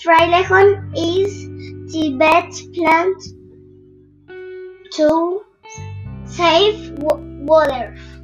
Frailejon is the best plant to save water.